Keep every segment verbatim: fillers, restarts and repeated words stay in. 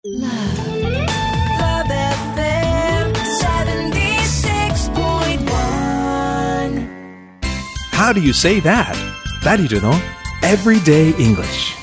Love, Love エフエム seventy-six point one. How do you say that? ダリルの Everyday English.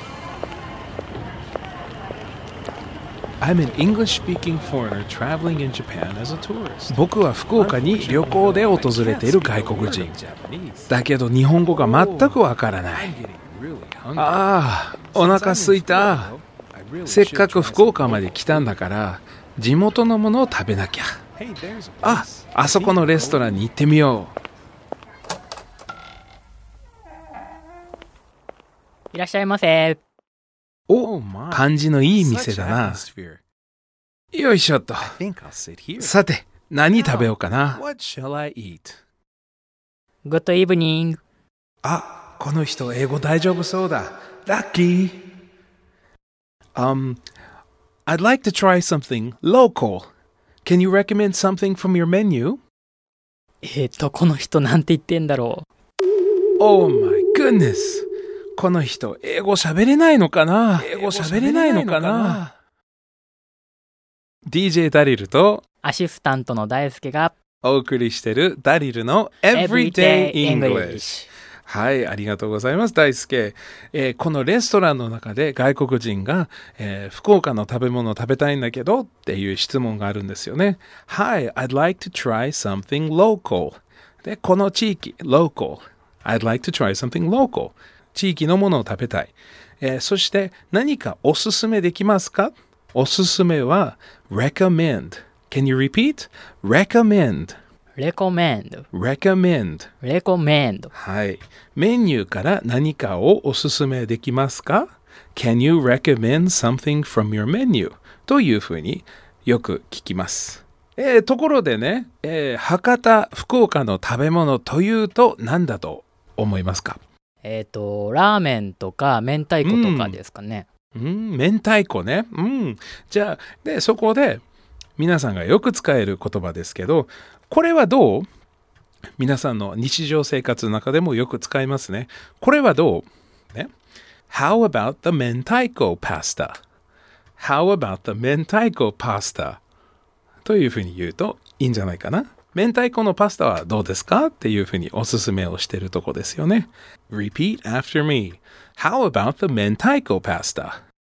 I'm an English-speaking foreigner traveling in Japan as a tourist. 僕は福岡に旅行で訪れている外国人。だけど日本語が全くわからない。ああ、お腹空いた。せっかく福岡まで来たんだから地元のものを食べなきゃ。あ、あそこのレストランに行ってみよう。 いらっしゃいませ。 お、感じのいい店だな。よいしょっと。さて、何食べようかな。 Good evening. あ、この人英語大丈夫そうだ。ラッキー。Um, I'd like to try something local. Can you recommend something from your menu? えっと、この人なんて言ってんだろう。Oh my goodness. この人、英語喋れないのかな英語喋れないのかな ディージェー ダリルとアシスタントの大輔がお送りしてるダリルの Everyday English。はい、ありがとうございます、大輔。えー、このレストランの中で外国人が、えー、福岡の食べ物を食べたいんだけどっていう質問があるんですよね。Hi, I'd like to try something local. で、この地域、local. I'd like to try something local.地域のものを食べたい、えー、そして何かおすすめできますか？おすすめは recommend. Can you repeat? recommend. recommend. recommend. recommend. はい。メニューから何かをおすすめできますか？ Can you recommend something from your menu? というふうによく聞きます。えー、ところでね、えー、博多、福岡の食べ物というと何だと思いますか？ えっと、ラーメンとか明太子とかですかね。 うん、うん、明太子ね。うん。じゃあ、で、そこで皆さんがよく使える言葉ですけど、これはどう？皆さんの日常生活の中でもよく使いますね。これはどう？ね。How about the 明太子 pasta? How about the 明太子 pasta? というふうに言うといいんじゃないかな。明太子のパスタはどうですかっていうふうにおすすめをしているとこですよね。Repeat after me. How about the 明太子 pasta?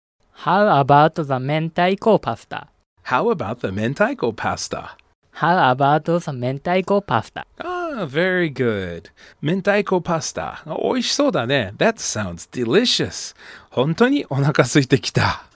How about the 明太子 pasta? How about the 明太子 pasta? How about the 明太子 pasta? Ah, very good. 明太子パスタ。美味しそうだね。That sounds delicious. 本当にお腹空いてきた。